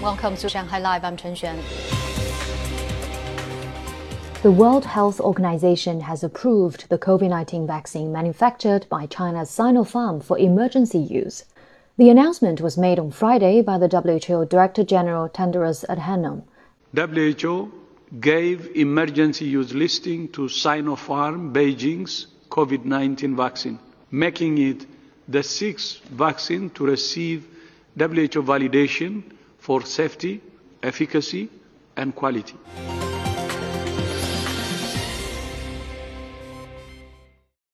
Welcome to Shanghai Live. I'm Chen Xuan. The World Health Organization has approved the COVID-19 vaccine manufactured by China's Sinopharm for emergency use. The announcement was made on Friday by the WHO Director General Tedros Adhanom. WHO gave emergency use listing to Sinopharm Beijing's COVID-19 vaccine, making it the sixth vaccine to receive WHO validation for safety, efficacy, and quality.